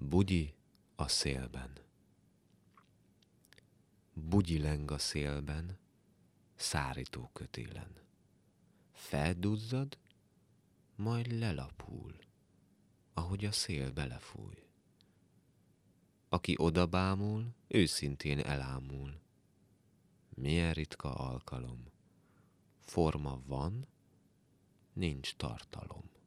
Bugyi a szélben. Bugyi leng a szélben, szárító kötélen. Felduzzad, majd lelapul, ahogy a szél belefúj. Aki odabámul, őszintén elámul. Milyen ritka alkalom. Forma van, nincs tartalom.